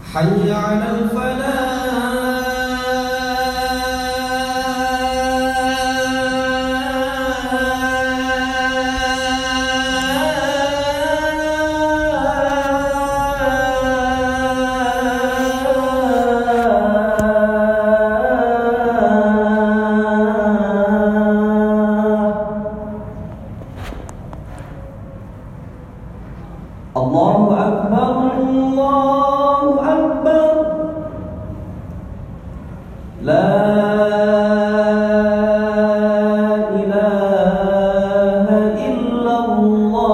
حي على الفلاح Allahu Akbar, Allahu Akbar. La ilaha illallah.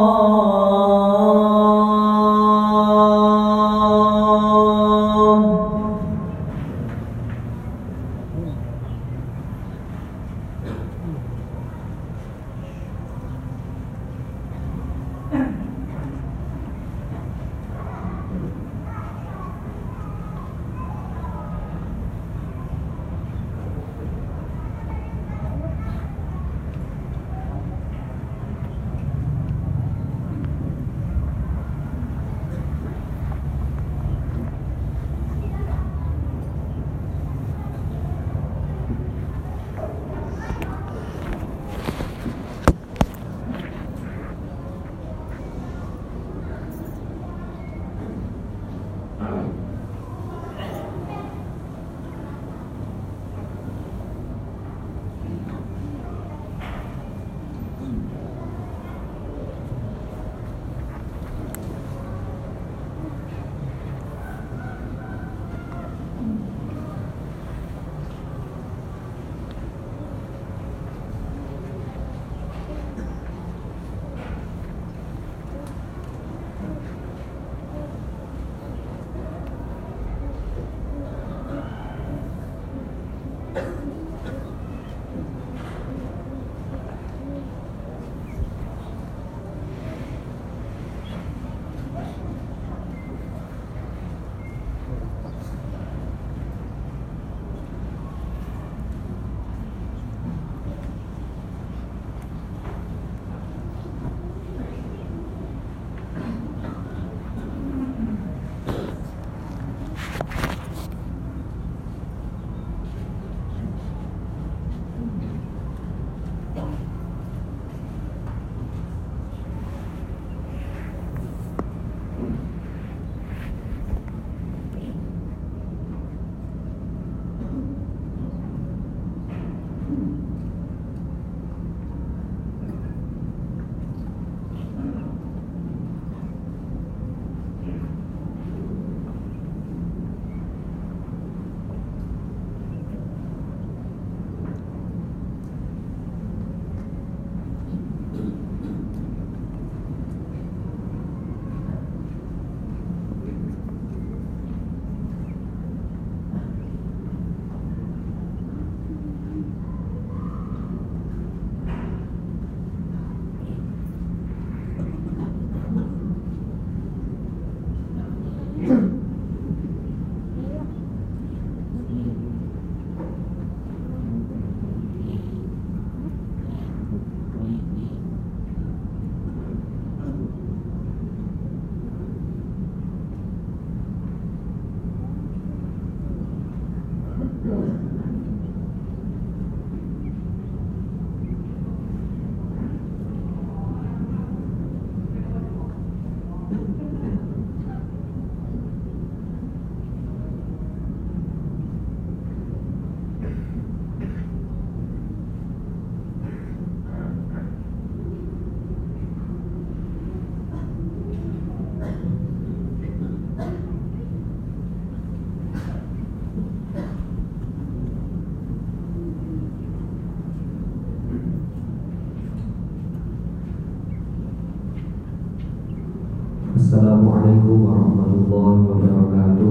Assalamualaikum warahmatullahi wabarakatuh.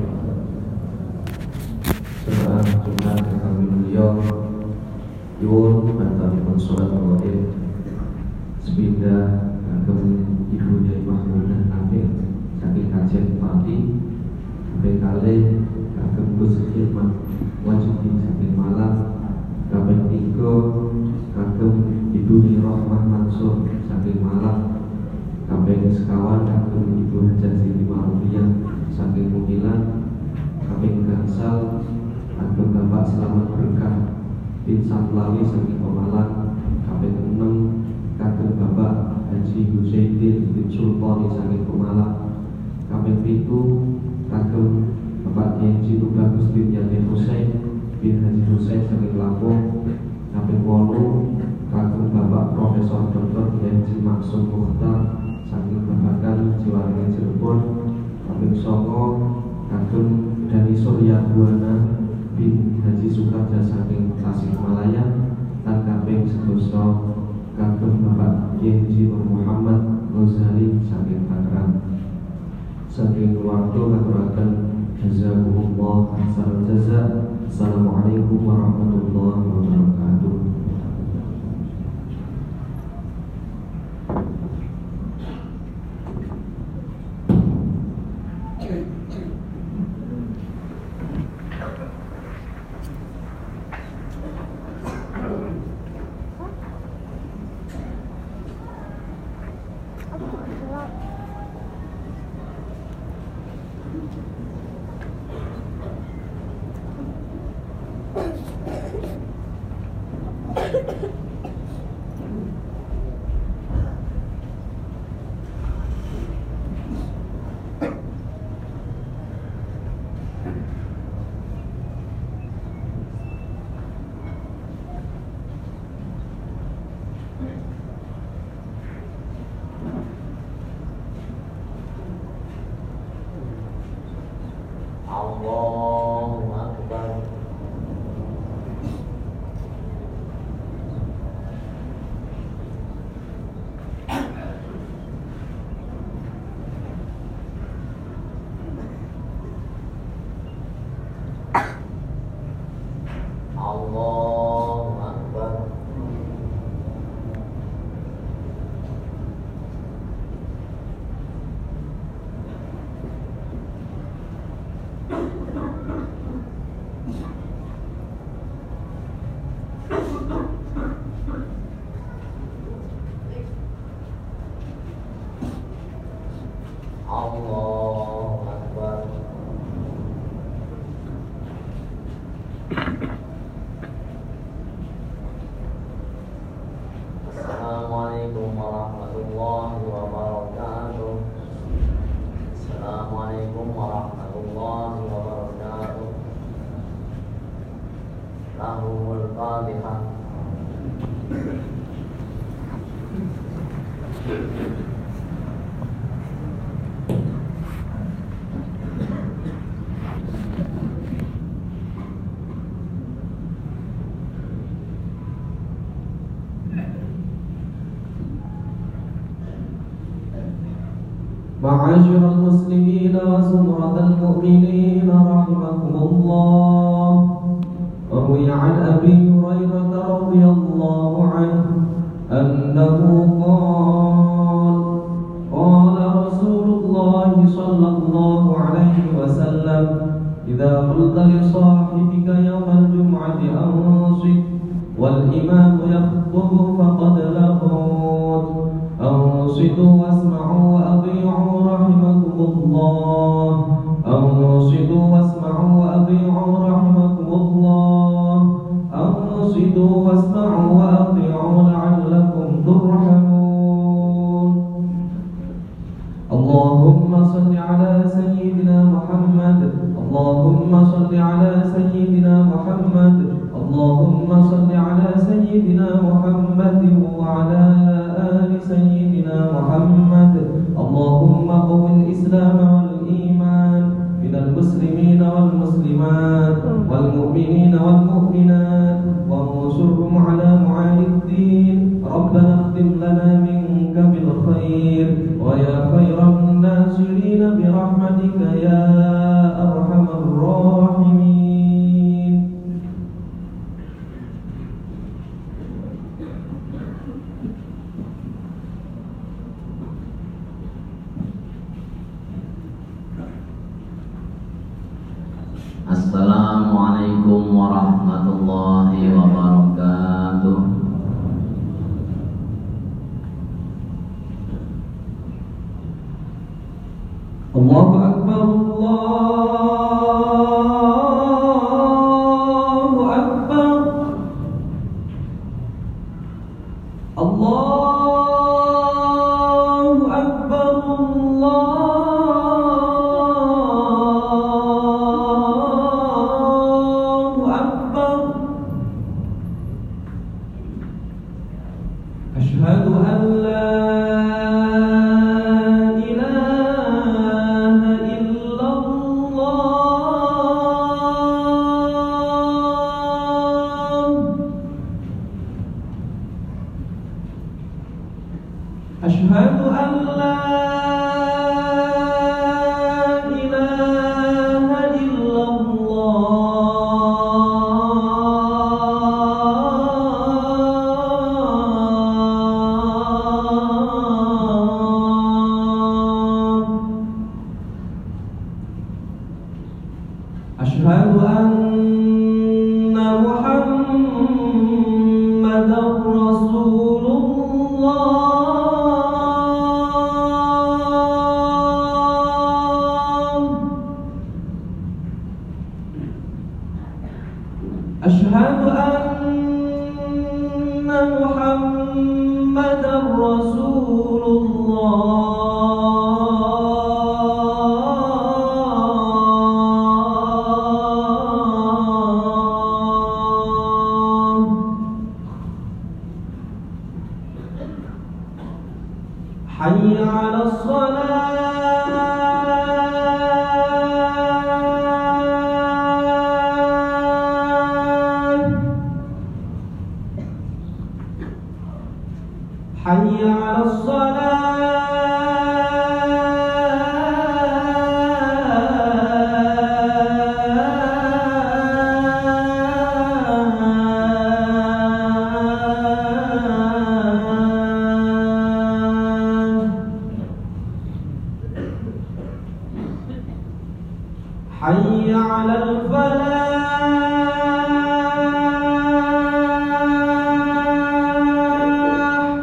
Jemaah Jumat kami mulia, nyuwun bantuanipun salat Maghrib sepindah kagem Ibu Nyai Mahmunah Nafil saking kajian pagi, kaping kalih kagem Gus Khidmat Wajibin saking Malang, kaping 3 kagem Ibu Nyai Rahmah Mansur saking Malang, kaping sekawan kagem Ibu Hajah Siti Ma'rufiyah saking Mukilan, Lali saking Pemalang, kaping 6 kagem Bapak Haji Husaidin bin Sultani saking Pemalang, kaping 7 kagem Bapak Haji Tubagus bin Yani Husain bin Haji Husain saking Lampung, kaping 8 kagem Bapak Profesor Dr. Haji Maksud Mukhtar saking Babakan Jiwaringan Cirebon, kaping 9 kagem Dani Surya Buana bin Haji Sukarja saking Tasikmalaya, lan kaping 11 kagem Bapak Haji Nur Muhammad Ghazali saking Tangerang. Saking keluarga ngaturaken jazakumullah khairal jazaa. Assalamualaikum warahmatullahi wabarakatuh. Allahu Akbar. Allahu Akbar. Allahu Akbar. Assalamualaikum warahmatullahi wabarakatuh. Assalamualaikum warahmatullahi wabarakatuh. Lahumul Fatihah. معاشر المسلمين وزمرة المؤمنين رحمكم الله. روي عن أبي هريرة رضي الله عنه أنه قال قال رسول الله صلى الله عليه وسلم إذا قلت لصاحبك يوم الجمعة أنصت والإمام يخطب فقد لغوت أنصتوا واسمعوا وأطيعوا رحمكم الله. أنصتوا واسمعوا وأطيعوا رحمكم الله. أنصتوا واسمعوا وأطيعوا لعلكم ترحمون. اللهم صل على سيدنا محمد. اللهم صل على سيدنا محمد. اللهم صل على سيدنا محمد وعلى آل سيدنا محمد. اللهم قو الإسلام والإيمان من المسلمين والمسلمات والمؤمنين والمؤمنات وانصرهم على معالي الدين. ربنا اختم لنا منك بالخير ويا خير الناصرين برحمتك يا أرحم الراحمين. Assalamualaikum warahmatullahi wabarakatuh. Allahu Akbar, Allahu Akbar. أشهد أن محمدا رسول الله. أشهد أن محمدا رسول الله. حي على الصلاة. حي على حي على الفلاح.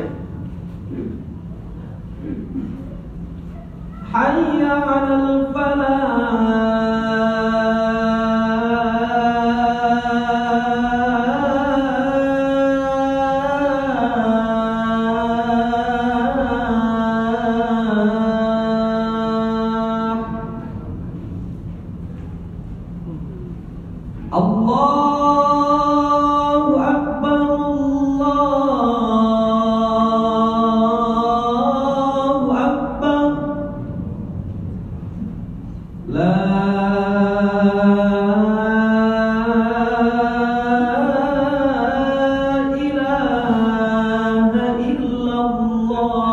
حي على الله أكبر الله أكبر لا إله إلا الله.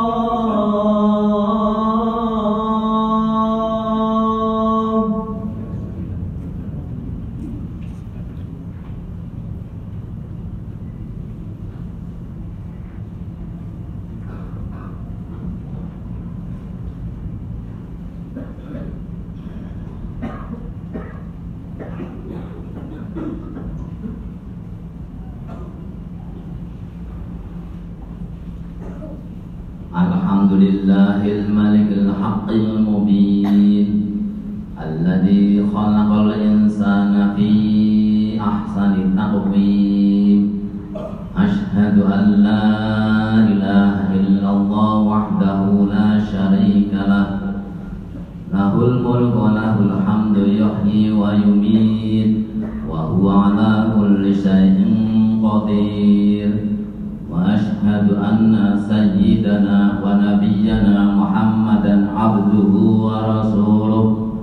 Alhamdulillahil malikil haqqil mubin alladzi khalaqal insana fi ahsani taqwim. Ashhadu an la ilaha illallah wahdahu la syarika lah. Lahul mulku wa lahul hamdu yuhyi wa yumiit wa huwa ala kulli syai'in qadir. وأشهد أن سيدنا ونبينا محمدا عبده ورسوله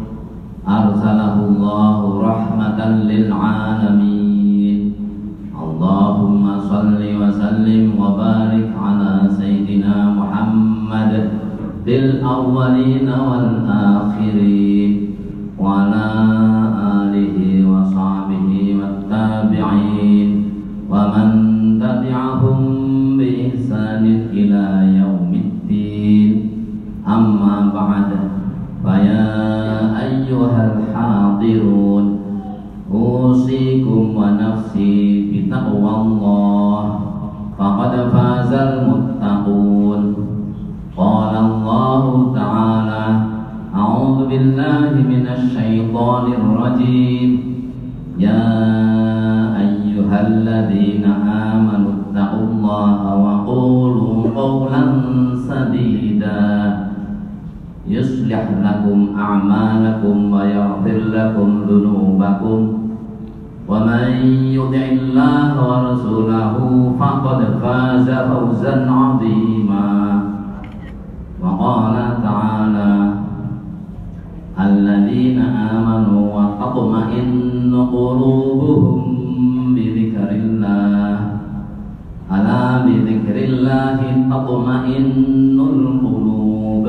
أرسله الله رحمة للعالمين. اللهم صل وسلم وبارك على سيدنا محمد في الأولين والآخرين وعلى آله وصحبه والتابعين ومن تبعهم بإحسان إلى يوم الدين. أما بعد فيا أيها الحاضرون أوصيكم ونفسي بتقوى الله فقد فاز المتقون. قال الله تعالى: أعوذ بالله من الشيطان الرجيم. يا أيها الذين آمنوا اتقوا الله وقولوا قولا سديدا يصلح لكم أعمالكم ويغفر لكم ذنوبكم ومن يطع الله ورسوله فقد فاز فوزا عظيما. وقال تعالى: الذين آمنوا وتطمئن قلوبهم بذكر الله ألا بذكر الله تطمئن القلوب.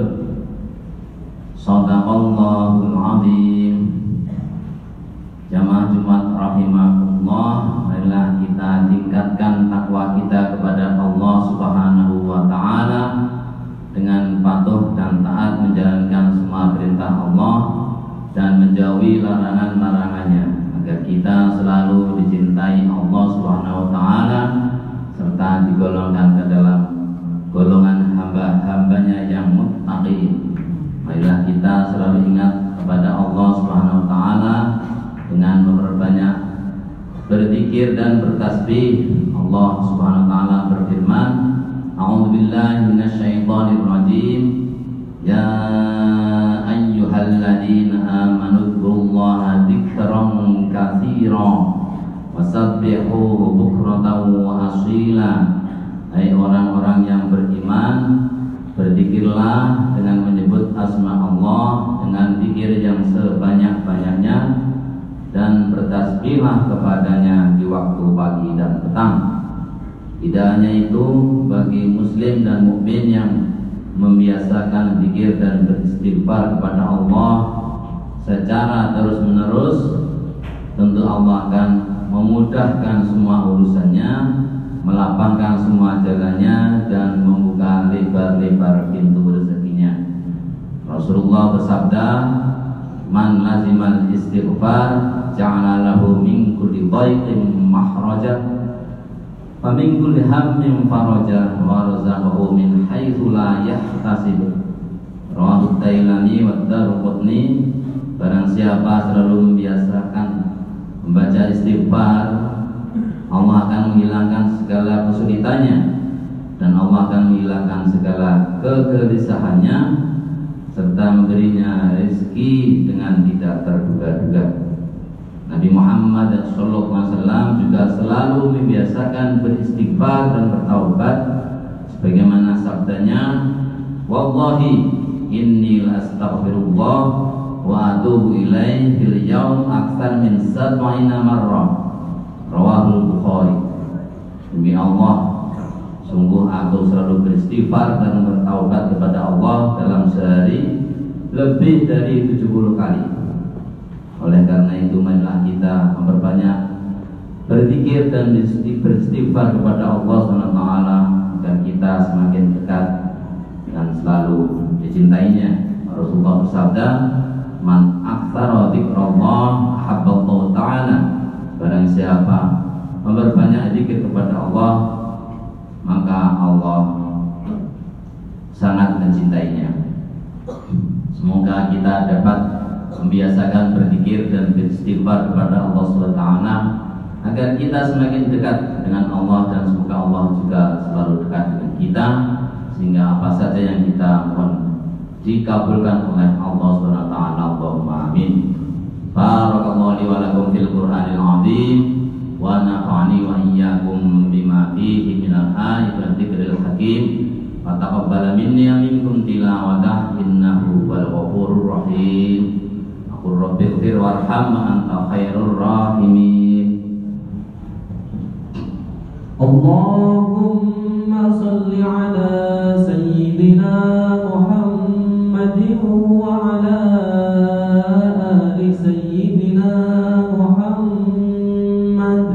Sadaqallahul azim. Jamaah Jumat rahimakumullah, marilah kita tingkatkan takwa kita kepada Allah Subhanahu wa taala dengan patuh dan taat menjalankan semua perintah Allah dan dan menjauhi larangan-larangannya, agar kita selalu dicintai Allah Subhanahu wa taala serta digolongkan ke dalam golongan hamba-hambanya yang muttaqin. Marilah kita selalu ingat kepada Allah Subhanahu wa taala dengan memperbanyak berzikir dan bertasbih. Allah Subhanahu wa taala berfirman, A'udzubillahi minasyaitonirrajim. Ya ayyuhalladzina amanu dzkurullaha dzikran katsiran wasabbihuhu bukratan wa asila. Hai orang-orang yang beriman, berzikirlah dengan menyebut asma Allah dengan zikir yang sebanyak-banyaknya, dan bertasbihlah kepadanya di waktu pagi dan petang. Tidak hanya itu, bagi muslim dan mukmin yang membiasakan zikir dan beristighfar kepada Allah secara terus-menerus, tentu Allah akan memudahkan semua urusannya, melapangkan semua jalannya, dan membuka lebar-lebar pintu rezekinya. Rasulullah bersabda, man lazimal istighfar ja'ala lahu min kulli dhaiqin mahraja wa min kulli hammin faraja wa razaqahu min haitsu la yahtasib. Rawahu Tailani wa Daruqutni. Barang siapa selalu membiasakan membaca istighfar, Allah akan menghilangkan segala kesulitannya, dan Allah akan menghilangkan segala kegelisahannya, serta memberinya rezeki dengan tidak terduga-duga. Nabi Muhammad SAW juga selalu membiasakan beristighfar dan bertaubat, sebagaimana sabdanya, wallahi inni astaghfirullah wa atubu ilaihi fil yaum aktsar min 70 marrah. Rawahul Bukhari. Demi Allah, sungguh aku selalu beristighfar dan bertaubat kepada Allah dalam sehari lebih dari 70 kali. Oleh karena itu, marilah kita memperbanyak berzikir dan beristighfar kepada Allah SWT agar kita semakin dekat dan selalu dicintainya. Rasulullah bersabda, man aktsara dzikrallah habballahu ta'ala. Barang siapa memperbanyak zikir kepada Allah, maka Allah sangat mencintainya. Semoga kita dapat membiasakan berzikir dan beristighfar kepada Allah SWT agar kita semakin dekat dengan Allah, dan semoga Allah juga selalu dekat dengan kita, sehingga apa saja yang kita mohon dikabulkan oleh Allah SWT. Allahumma amin. Barakallahu li wa lakum fil Qur'anil azim wa nafa'ani wa iyyakum bima fihi minal ayati wa dzikril hakim wa taqabbala minni wa minkum tilawatah innahu wal ghafurur rahim. Qur rabbighfir warham anta khairur rahimin. Allahumma salli ala sayyidina Muhammadin wa ala ali sayyidina Muhammad.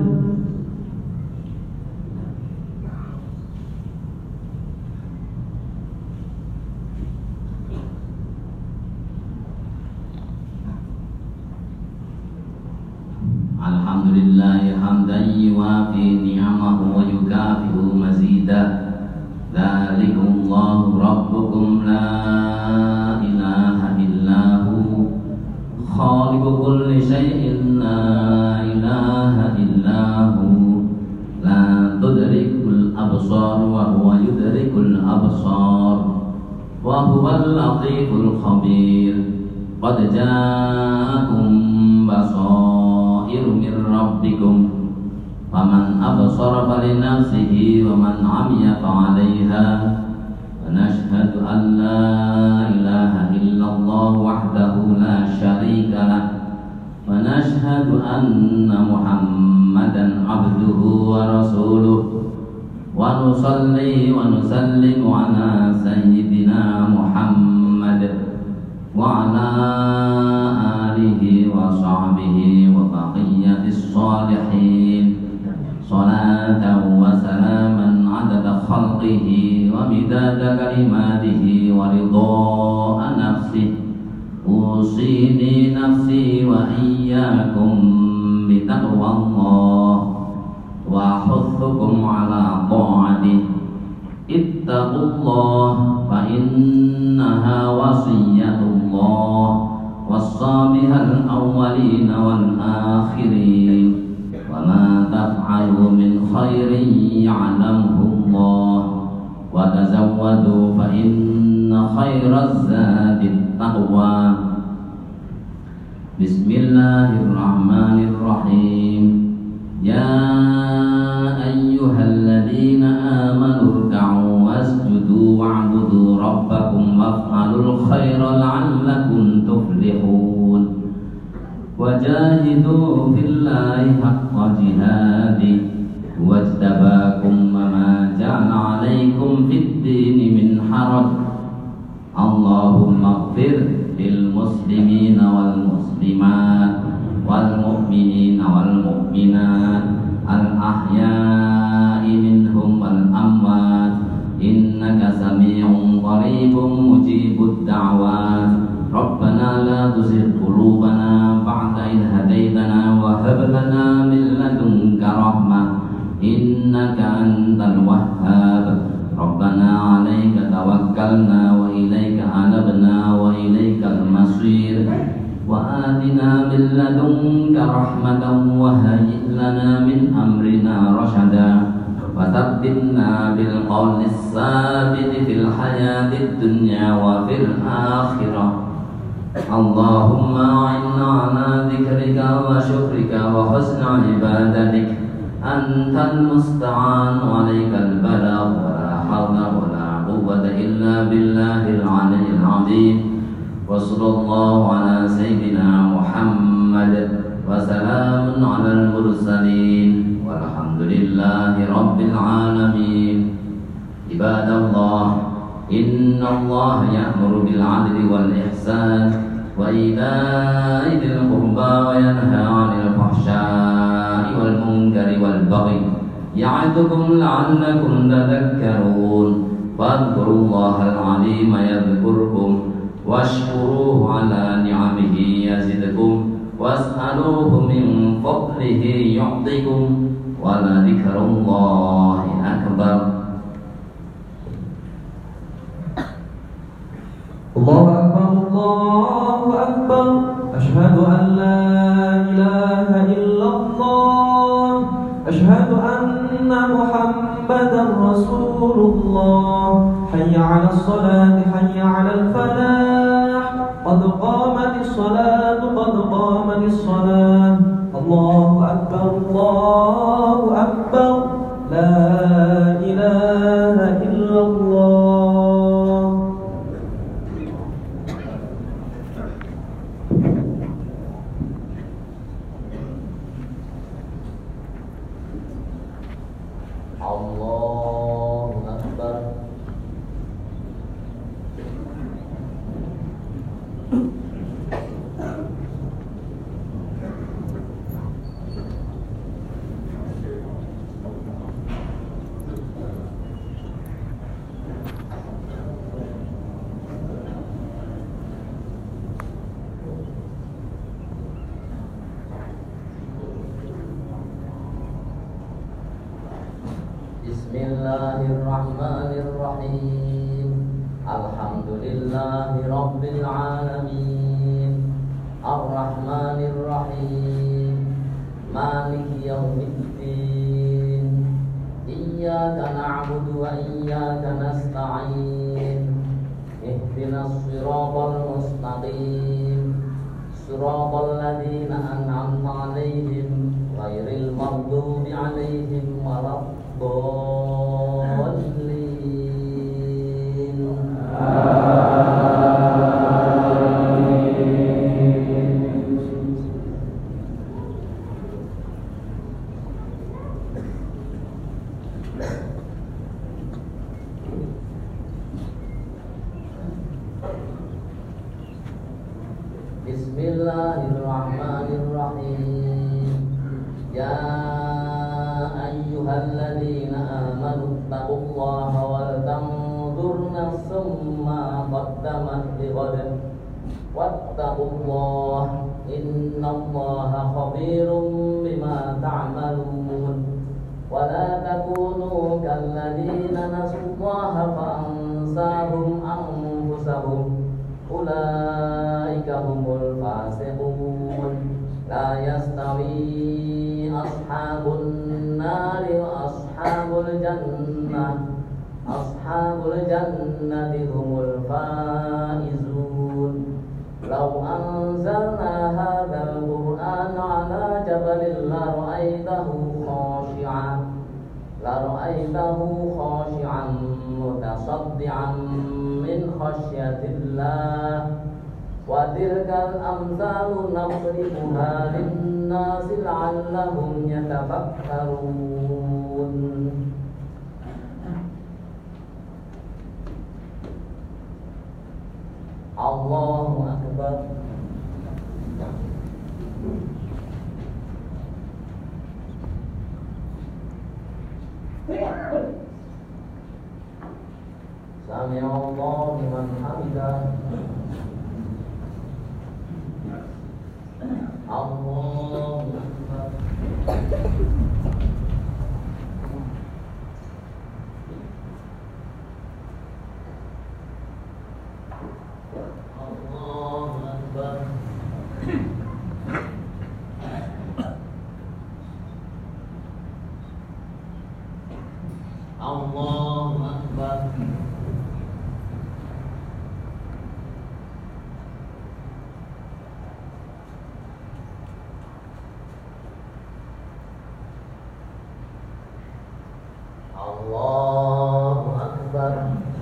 Alhamdulillahi hamdan yuwafi ni'amahu wa yukafi'u mazidah. Dzalikumullahu rabbukum la ilaha illahu khaliqu kulli syai'in la ilaha illahu la tudrikul absar wa huwa yudrikul absar wa huwal latiful khabir. Qad ja'akum basairu min rabbikum faman absara falinafsihi wa man 'amiya fa'alaiha. Wa nashhadu an la ilaha illallah wahdahu la syarika lah wa nashhadu anna Muhammadan 'abduhu wa rasuluh wa nusalli wa nusallimu ala sayyidina Muhammad wa ala alihi wa sahbihi wa baqiyatis salihin salatan wa salaman adada khalqihi wa midada kalimatihi wa ridha nafsihi. أوصيني نفسي وإياكم بتقوى الله وأحثكم على طاعته اتقوا الله فإنها وصية الله وصى بها الأولين والآخرين وما تفعلوا من خير يعلمه الله وتزودوا فإن خير الزاد التقوى بسم الله الرحمن الرحيم يا أيها الذين آمنوا اركعوا واسجدوا واعبدوا ربكم وافعلوا الخير لعلكم تفلحون وجاهدوا في الله حق جهاده واجتباكم وما جعل عليكم في الدين من حرج اللهم اغفر للمسلمين والمسلمات والمؤمنين والمؤمنات الأحياء منهم والأموات إنك سميع قريب مجيب الدعوات ربنا لا تزغ قلوبنا بعد إذ هديتنا وهب لنا من لدنك رحمة إنك أنت الوهاب ربنا عليك توكلنا وإليك أنبنا وإليك المصير وآتنا من لدنك رحمة وهيئ لنا من أمرنا رشدا وثبتنا بالقول الثابت في الحياة الدنيا وفي الآخرة اللهم أعنا على ذكرك وشكرك وحسن عبادتك أنت المستعان وعليك البلاغ ولا حول ولا قوة إلا بالله العلي العظيم وصلى الله على سيدنا محمد وسلام على المرسلين والحمد لله رب العالمين عباد الله إن الله يأمر بالعدل والإحسان وإيتاء ذي القربى وينهى عن الفحشاء والمنكر والبغي يعظكم لعلكم تذكرون فاذكروا الله العظيم يذكركم واشكروه على نعمه يزدكم واسألوه من فضله يعطكم ولذكر الله أكبر الله أكبر الله أكبر أشهد أن لا إله إلا الله أشهد أن محمدا رسول الله حي على الصلاة حي على الفلاح قد قامت الصلاة قد قامت الصلاة الله أكبر الله أكبر لا إله إلا الله الله أكبر Bismillahirrahmanirrahim Alhamdulillahi Rabbil Alamin Ar-Rahmanirrahim Maliki Yawmiddin Iyyaka na'budu wa iyyaka nasta'in Ihdinas siratal mustaqim Siratal ladzina an'amta 'alaihim ghairil maghdubi 'alaihim waladdallin Bismillahirrahmanirrahim Ya ayyuhalladzina amanu taqullaha wal tanzur nafsum ma qaddamat lighad wattaqullah innallaha khabirum bima ta'malun wa la takunu kalladzina nasullaha fa ansahum anfusahum ulaika humul fasiqun la yastawi ashabun nari wa ashabul jannati humul faizun law anzalna hadzal qur'ana ala jabalin la ra'aytahu khashi'an mutasaddian min khasyatillah wa tilkal amsalu nadribuha lin-nasi la'allahum yatafakkarun. Allahu Akbar. Sami'allahu liman hamidah. Allahu Akbar. Allahu Akbar. Allahu Akbar. Allahu Akbar.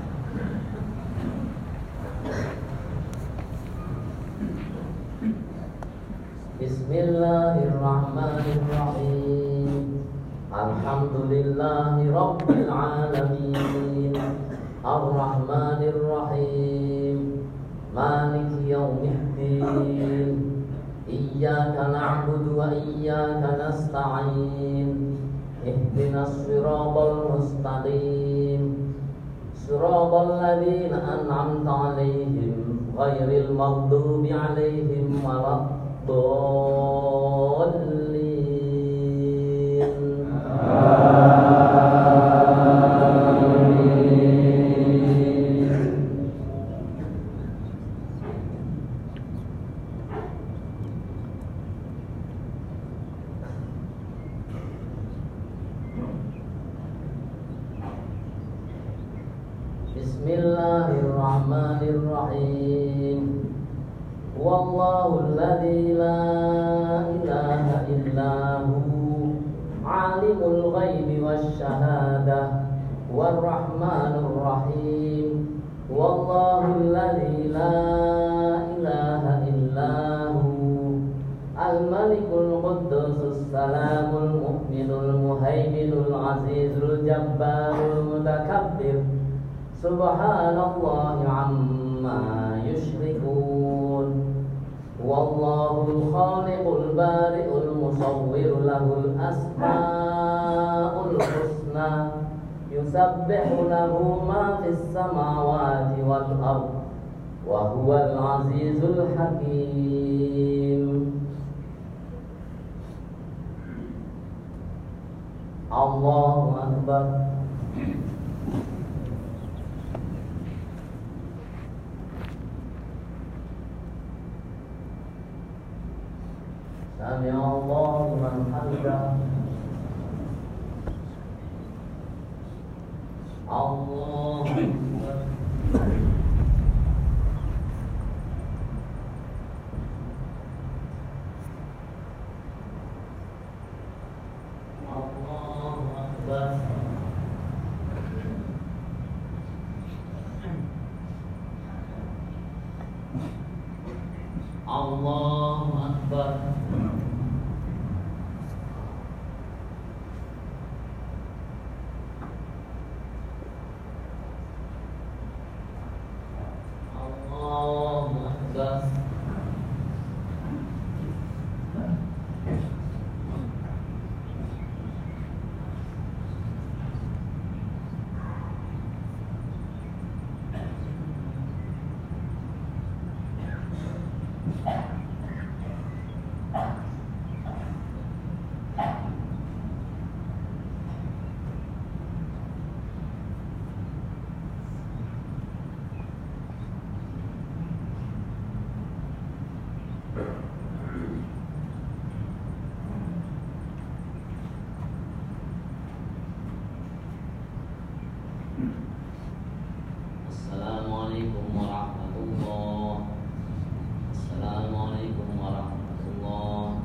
Bismillahirrahmanirrahim. Alhamdulillahi rabbil alamin. Ar-Rahmanir Rahim. Maliki yaumiddin. Iyyaka na'budu wa iyyaka nasta'in. Ihdinas siratal mustaqim. Siratal ladzina an'amta 'alaihim ghairil maghdubi 'alaihim waladdallin. Bismillahirrahmanirrahim. Wallahul ladzi la ilaha illahu alimul ghaibi wasyahadah warrahmanur rahim. Wallahul ladzi la ilaha illahu al-malikul quddusus salamul mu'minul muhaiminul azizul jabbarul mutakabbir. Subhanallahi amma yushrikun. Wallahul khaliqul bari'ul musawwir lahul asma'ul husna. Yusabbihu lahu ma fis samawati wal ard wa huwal azizul hakim. Allahu Akbar. Sami'allahu liman hamidah. Allahu Akbar. Allahu Akbar. Allahu Akbar. Assalamualaikum warahmatullahi. Assalamualaikum warahmatullahi.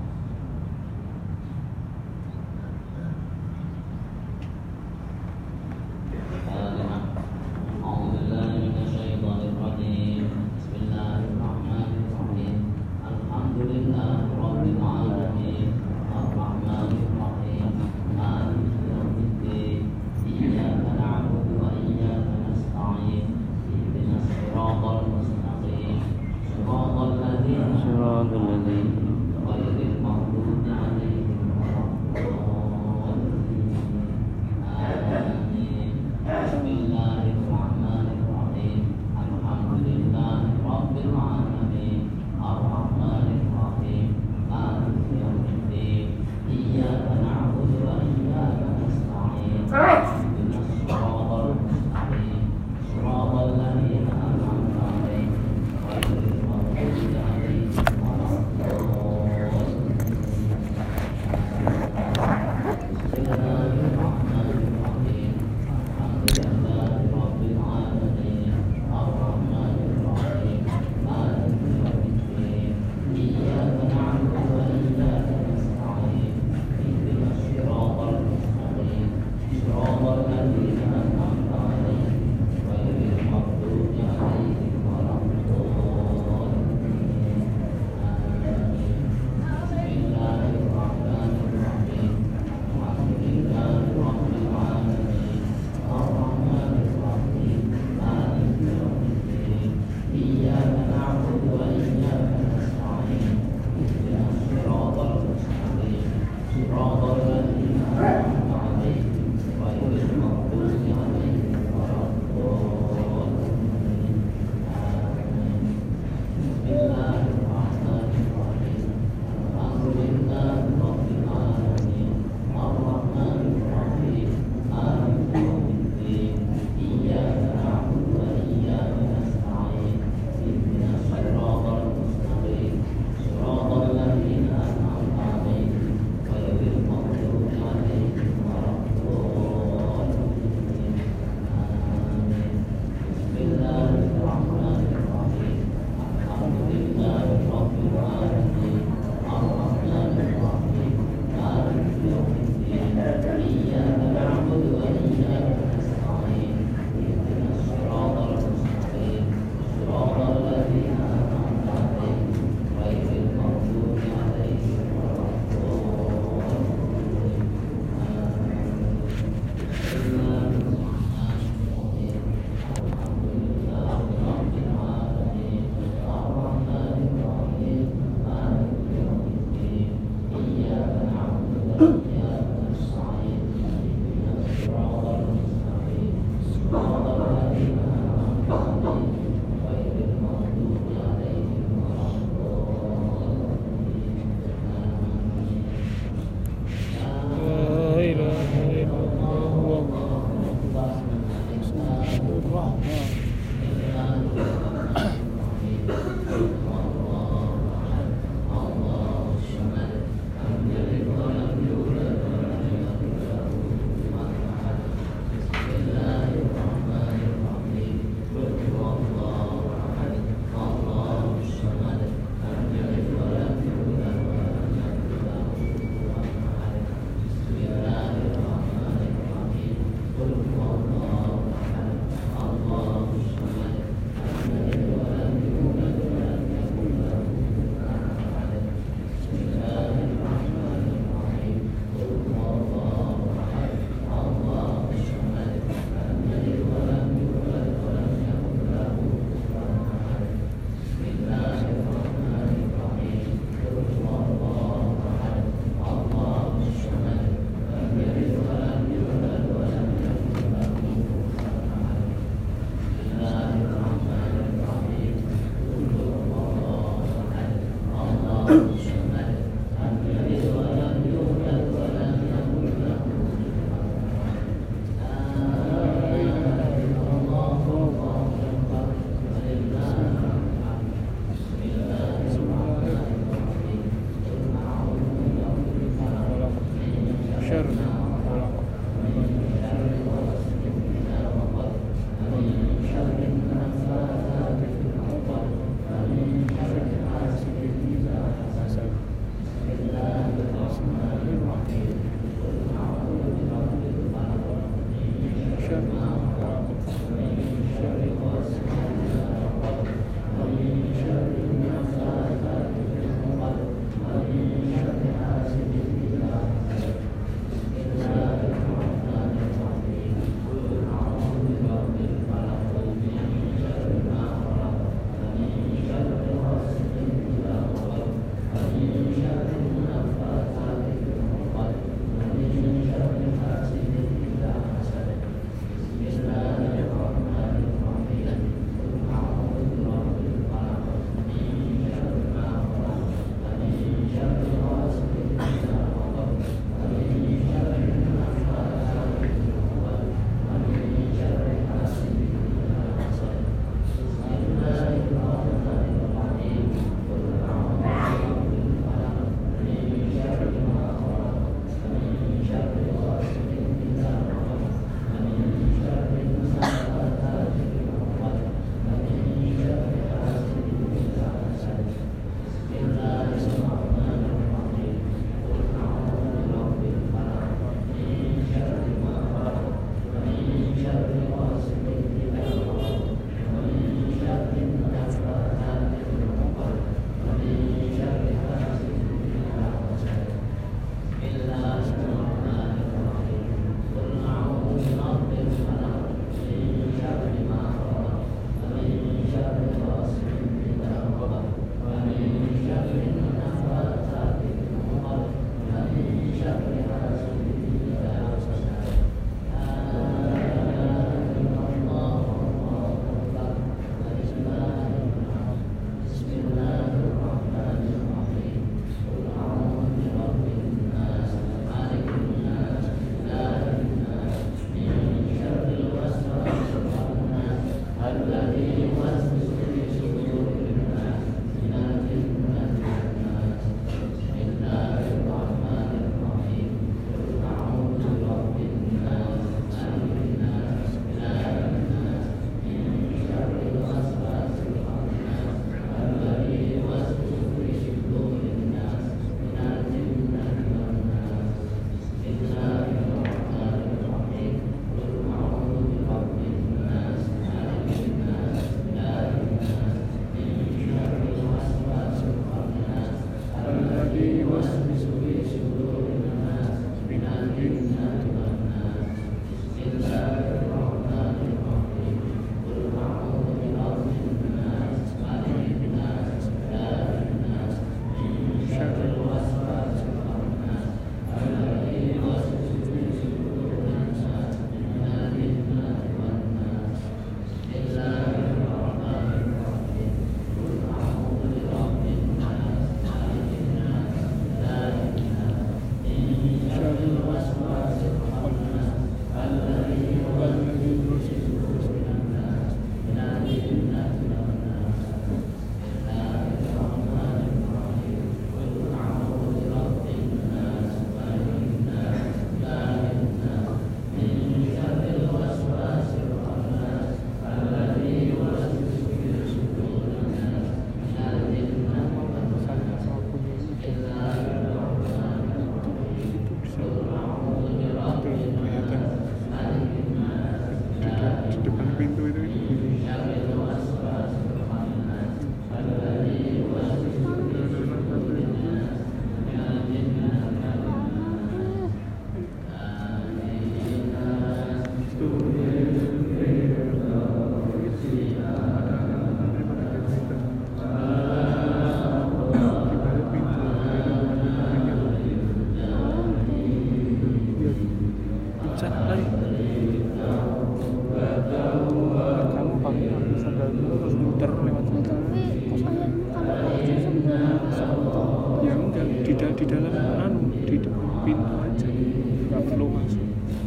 di dalam di depan pintu aja, nggak perlu masuk.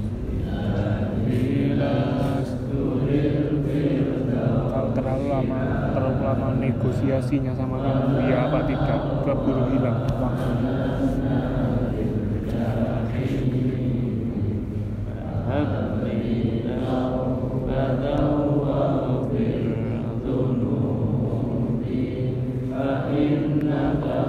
Kalau terlalu lama negosiasinya sama kamu, ya apa tidak, keburu hilang waktu.